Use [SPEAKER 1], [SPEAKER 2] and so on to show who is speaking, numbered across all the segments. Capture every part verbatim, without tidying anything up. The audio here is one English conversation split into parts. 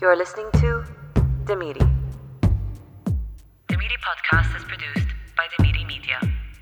[SPEAKER 1] You're listening to Demiri. Demiri podcast is produced by Demiri Media.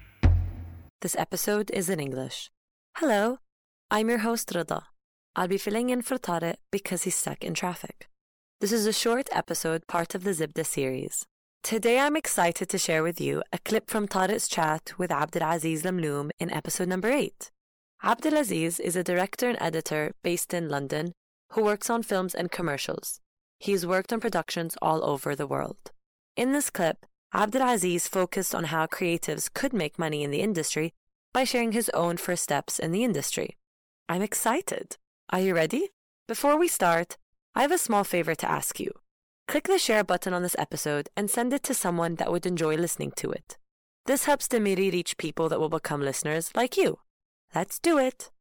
[SPEAKER 1] This episode is in English. Hello, I'm your host Rida. I'll be filling in for Tariq because he's stuck in traffic. This is a short episode, part of the Zibda series. Today I'm excited to share with you a clip from Tariq's chat with Abdulaziz Lamloom in episode number eight. Abdulaziz is a director and editor based in London who works on films and commercials. He's worked on productions all over the world. In this clip, Abdulaziz focused on how creatives could make money in the industry by sharing his own first steps in the industry. I'm excited. Are you ready? Before we start, I have a small favor to ask you. Click the share button on this episode and send it to someone that would enjoy listening to it. This helps Demiri reach people that will become listeners like you. Let's do it.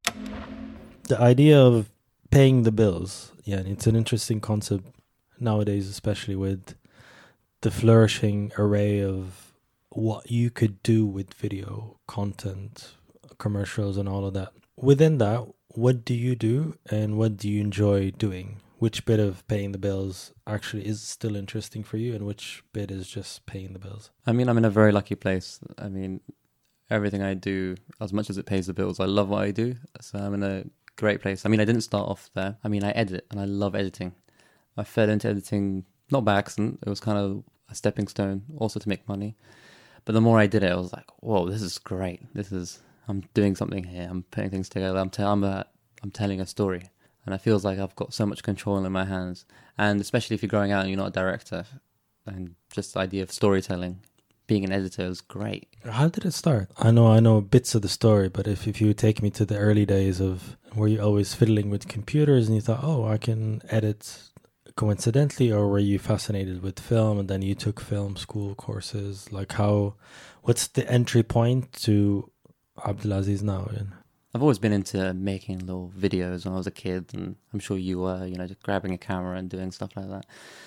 [SPEAKER 2] The idea of paying the bills, yeah, it's an interesting concept nowadays, especially with the flourishing array of what you could do with video content, commercials and all of that. Within that, what do you do and what do you enjoy doing? Which bit of paying the bills actually is still interesting for you and which bit is just paying the bills?
[SPEAKER 3] I mean, I'm in a very lucky place. I mean, everything I do, as much as it pays the bills, I love what I do. So I'm in a great place. I mean, I didn't start off there. I mean, I edit and I love editing. I fell into editing, not by accident. It was kind of a stepping stone also to make money. But the more I did it, I was like, whoa, this is great. This is, I'm doing something here. I'm putting things together. I'm, t- I'm, a, I'm telling a story. And it feels like I've got so much control in my hands. And especially if you're growing out and you're not a director, and just the idea of storytelling, being an editor is great.
[SPEAKER 2] How did it start? I know I know bits of the story, but if, if you take me to the early days of were you always fiddling with computers and you thought, oh, I can edit coincidentally, or were you fascinated with film and then you took film school courses? Like how, what's the entry point to Abdulaziz now?
[SPEAKER 3] I've always been into making little videos when I was a kid, and I'm sure you were, you know, just grabbing a camera and doing stuff like that.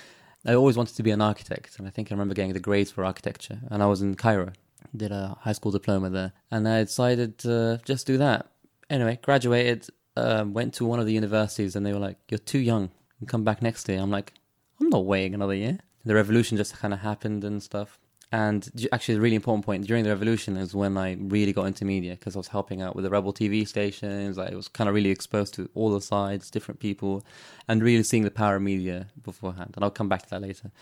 [SPEAKER 3] I always wanted to be an architect, and I think I remember getting the grades for architecture, and I was in Cairo, did a high school diploma there, and I decided to just do that. Anyway, graduated, um, went to one of the universities, and they were like, you're too young, you come back next year. I'm like, I'm not waiting another year. The revolution just kind of happened and stuff. And actually, the really important point during the revolution is when I really got into media, because I was helping out with the rebel T V stations. I was kind of really exposed to all the sides, different people, and really seeing the power of media beforehand. And I'll come back to that later.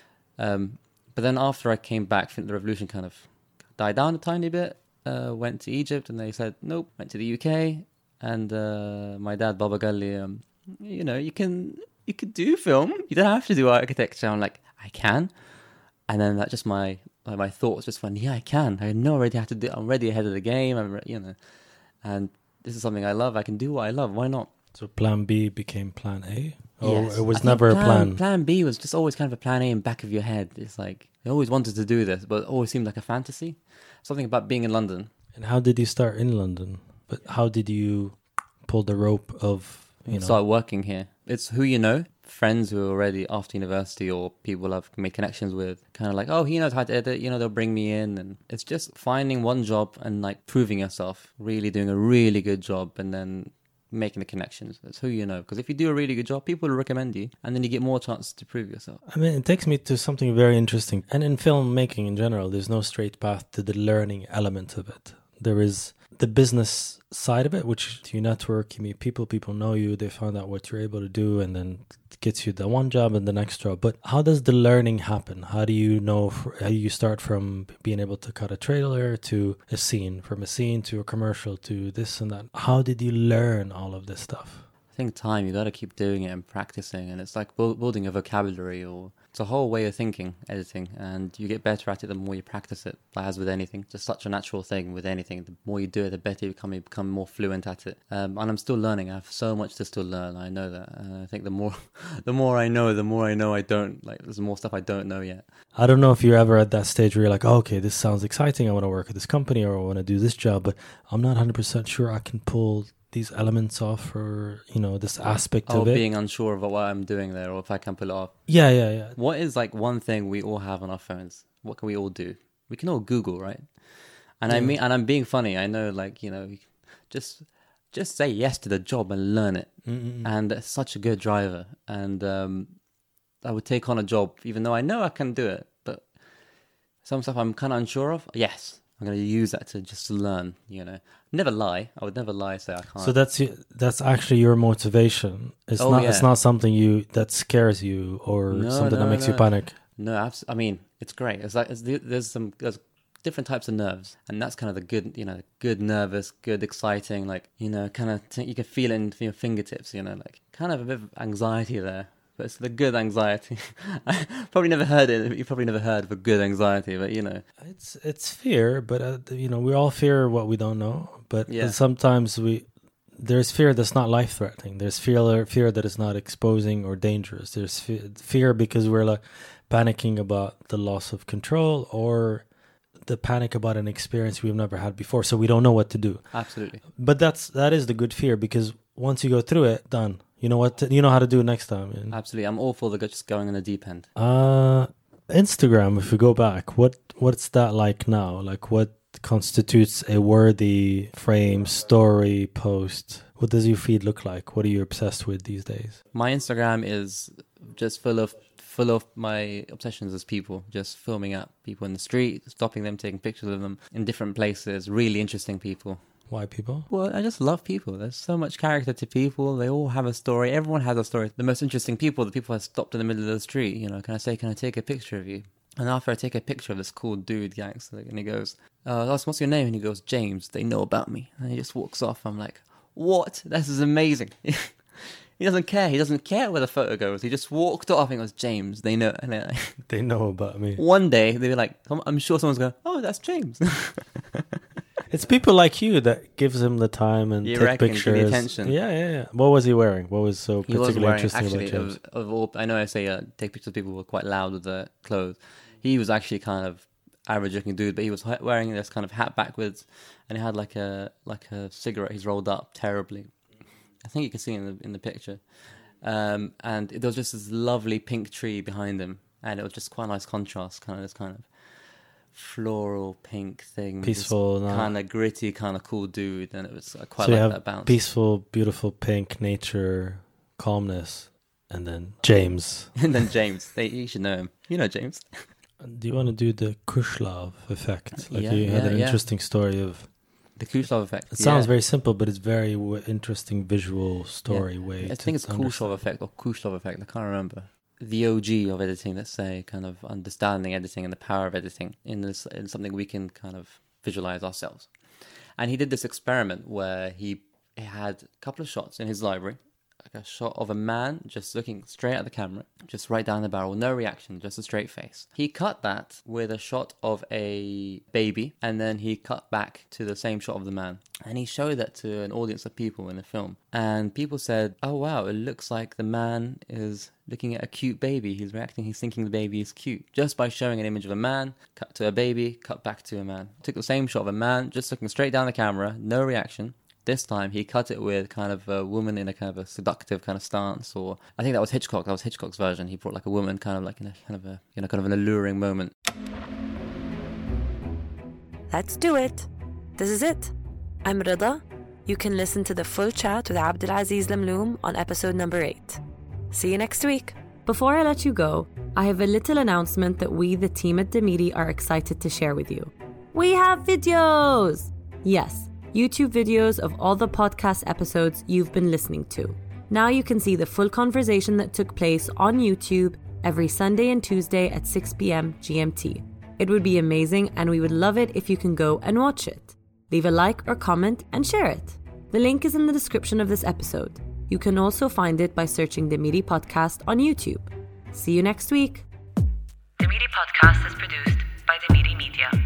[SPEAKER 3] Um, but then after I came back, I think the revolution kind of died down a tiny bit. Uh, went to Egypt, and they said nope. Went to the U K, and uh, my dad Baba Gali, um, you know, you can you could do film. You don't have to do architecture. I'm like, I can. And then that just my like my thoughts just went, yeah, I can. I know already how to do. I'm already ahead of the game. I'm, you know, and this is something I love. I can do what I love. Why not?
[SPEAKER 2] So Plan B became Plan A, or
[SPEAKER 3] yes.
[SPEAKER 2] it was
[SPEAKER 3] I
[SPEAKER 2] never
[SPEAKER 3] plan,
[SPEAKER 2] a plan.
[SPEAKER 3] Plan B was just always kind of a Plan A in the back of your head. It's like I always wanted to do this, but it always seemed like a fantasy. Something about being in London.
[SPEAKER 2] And how did you start in London? But how did you pull the rope of you know?
[SPEAKER 3] Start working here. It's who you know. Friends who are already after university or people I've made connections with, kind of like, oh, he knows how to edit, you know, they'll bring me in. And it's just finding one job and like proving yourself, really doing a really good job and then making the connections. That's who you know. Because if you do a really good job, people will recommend you and then you get more chance to prove yourself.
[SPEAKER 2] I mean, it takes me to something very interesting. And in filmmaking in general, there's no straight path to the learning element of it. There is the business side of it, which you network, you meet people, people know you, they find out what you're able to do, and then it gets you the one job and the next job. But how does the learning happen? How do you know, how do you start from being able to cut a trailer to a scene, from a scene to a commercial to this and that? How did you learn all of this stuff?
[SPEAKER 3] I think time, you got to keep doing it and practicing, and it's like bu- building a vocabulary, or it's a whole way of thinking, editing, and you get better at it the more you practice it, like as with anything. Just such a natural thing with anything. The more you do it, the better you become, you become more fluent at it. Um, and I'm still learning. I have so much to still learn. I know that. And I think the more the more I know, the more I know I don't, like there's more stuff I don't know yet.
[SPEAKER 2] I don't know if you're ever at that stage where you're like, oh, okay, this sounds exciting. I want to work at this company or I want to do this job, but I'm not one hundred percent sure I can pull these elements off, or you know, this aspect
[SPEAKER 3] oh,
[SPEAKER 2] of it.
[SPEAKER 3] Being unsure of what I'm doing there, or if I can pull it off.
[SPEAKER 2] Yeah, yeah, yeah.
[SPEAKER 3] What is like one thing we all have on our phones? What can we all do? We can all Google, right? And yeah. I mean, and I'm being funny. I know, like you know, just just say yes to the job and learn it.
[SPEAKER 2] Mm-mm.
[SPEAKER 3] And it's such a good driver. And um, I would take on a job, even though I know I can do it, but some stuff I'm kind of unsure of. Yes, I'm going to use that to just to learn, you know. Never lie. I would never lie, say I can't.
[SPEAKER 2] So that's that's actually your motivation. It's
[SPEAKER 3] oh,
[SPEAKER 2] not
[SPEAKER 3] yeah.
[SPEAKER 2] it's not something you that scares you or
[SPEAKER 3] no,
[SPEAKER 2] something
[SPEAKER 3] no,
[SPEAKER 2] that makes
[SPEAKER 3] no.
[SPEAKER 2] you panic.
[SPEAKER 3] No, abs- I mean, it's great. It's like it's, there's some there's different types of nerves, and that's kind of the good, you know, good nervous, good exciting, like, you know, kind of t- you can feel it in your fingertips, you know, like kind of a bit of anxiety there. But it's the good anxiety. I probably never heard it. You probably never heard of a good anxiety, but you know,
[SPEAKER 2] It's it's fear, but uh, you know, we all fear what we don't know. But
[SPEAKER 3] Yeah.
[SPEAKER 2] sometimes we there's fear that's not life threatening. There's fear fear that is not exposing or dangerous. There's fe- fear because we're like panicking about the loss of control or the panic about an experience we've never had before, so we don't know what to do.
[SPEAKER 3] absolutely.
[SPEAKER 2] But that's that is the good fear, because once you go through it, done. You know what? To, you know how to do it next time. And,
[SPEAKER 3] Absolutely. I'm all for the just going on the deep end.
[SPEAKER 2] uh, Instagram. If we go back, what what's that like now? Like, what constitutes a worthy frame, story, post? What does your feed look like? What are you obsessed with these days?
[SPEAKER 3] My Instagram is just full of full of my obsessions as people, just filming up people in the street, stopping them, taking pictures of them in different places, really interesting people.
[SPEAKER 2] Why people?
[SPEAKER 3] Well, I just love people. There's so much character to people. They all have a story. Everyone has a story. The most interesting people, the people who stopped in the middle of the street, you know, can I say, can I take a picture of you? And after I take a picture of this cool dude, gangster, and he goes, uh, what's your name? And he goes, James, they know about me. And he just walks off. I'm like, what? This is amazing. He doesn't care. He doesn't care where the photo goes. He just walked off and goes, James, they know. And then,
[SPEAKER 2] They know about me.
[SPEAKER 3] one day, they'll be like, I'm sure someone's going, oh, that's James.
[SPEAKER 2] It's people like you that gives him the time and
[SPEAKER 3] You
[SPEAKER 2] take
[SPEAKER 3] reckon, give the
[SPEAKER 2] pictures.
[SPEAKER 3] attention.
[SPEAKER 2] Yeah, yeah, yeah. What was he wearing? What was so
[SPEAKER 3] He was
[SPEAKER 2] particularly
[SPEAKER 3] wearing,
[SPEAKER 2] interesting
[SPEAKER 3] actually,
[SPEAKER 2] about James?
[SPEAKER 3] of, of all, I know I say uh, take pictures of people who were quite loud with their clothes. He was actually kind of average looking dude, but he was hi- wearing this kind of hat backwards, and he had like a like a cigarette he's rolled up terribly. I think you can see in the in the picture. Um, and there was just this lovely pink tree behind him, and it was just quite a nice contrast, kind of this kind of floral pink thing,
[SPEAKER 2] Peaceful, no.
[SPEAKER 3] kind of gritty, kind of cool dude, and it was I quite
[SPEAKER 2] So you
[SPEAKER 3] like
[SPEAKER 2] have
[SPEAKER 3] that bounce.
[SPEAKER 2] peaceful, beautiful pink nature, calmness, and then James.
[SPEAKER 3] And then James, they, you should know him. You know James.
[SPEAKER 2] Do you want to do the Kushlov effect? Like
[SPEAKER 3] Yeah,
[SPEAKER 2] you had
[SPEAKER 3] yeah,
[SPEAKER 2] an
[SPEAKER 3] yeah.
[SPEAKER 2] interesting story of.
[SPEAKER 3] The Kuleshov effect.
[SPEAKER 2] It sounds
[SPEAKER 3] yeah.
[SPEAKER 2] very simple, but it's very w- interesting visual story
[SPEAKER 3] Yeah.
[SPEAKER 2] way.
[SPEAKER 3] I
[SPEAKER 2] to
[SPEAKER 3] think it's
[SPEAKER 2] understand.
[SPEAKER 3] Kuleshov effect or Kuleshov effect. I can't remember. The O G of editing, let's say, kind of understanding editing and the power of editing in this in something we can kind of visualize ourselves. And he did this experiment where he, he had a couple of shots in his library, like a shot of a man just looking straight at the camera, just right down the barrel, no reaction, just a straight face. He cut that with a shot of a baby, and then he cut back to the same shot of the man. And he showed that to an audience of people in the film. And people said, oh wow, it looks like the man is looking at a cute baby. He's reacting, he's thinking the baby is cute. Just by showing an image of a man, cut to a baby, cut back to a man. Took the same shot of a man, just looking straight down the camera, no reaction. This time he cut it with kind of a woman in a kind of a seductive kind of stance, or I think that was Hitchcock. That was Hitchcock's version. He brought like a woman, kind of like in a kind of a you know kind of an alluring moment.
[SPEAKER 1] Let's do it. This is it. I'm Rida. You can listen to the full chat with Abdulaziz Lamloom on episode number eight. See you next week. Before I let you go, I have a little announcement that we, the team at Demiri, are excited to share with you. We have videos! Yes, YouTube videos of all the podcast episodes you've been listening to. Now you can see the full conversation that took place on YouTube every Sunday and Tuesday at six p.m. G M T. It would be amazing, and we would love it if you can go and watch it. Leave a like or comment and share it. The link is in the description of this episode. You can also find it by searching the Demiri Podcast on YouTube. See you next week.
[SPEAKER 4] The Demiri Podcast is produced by Demiri Media.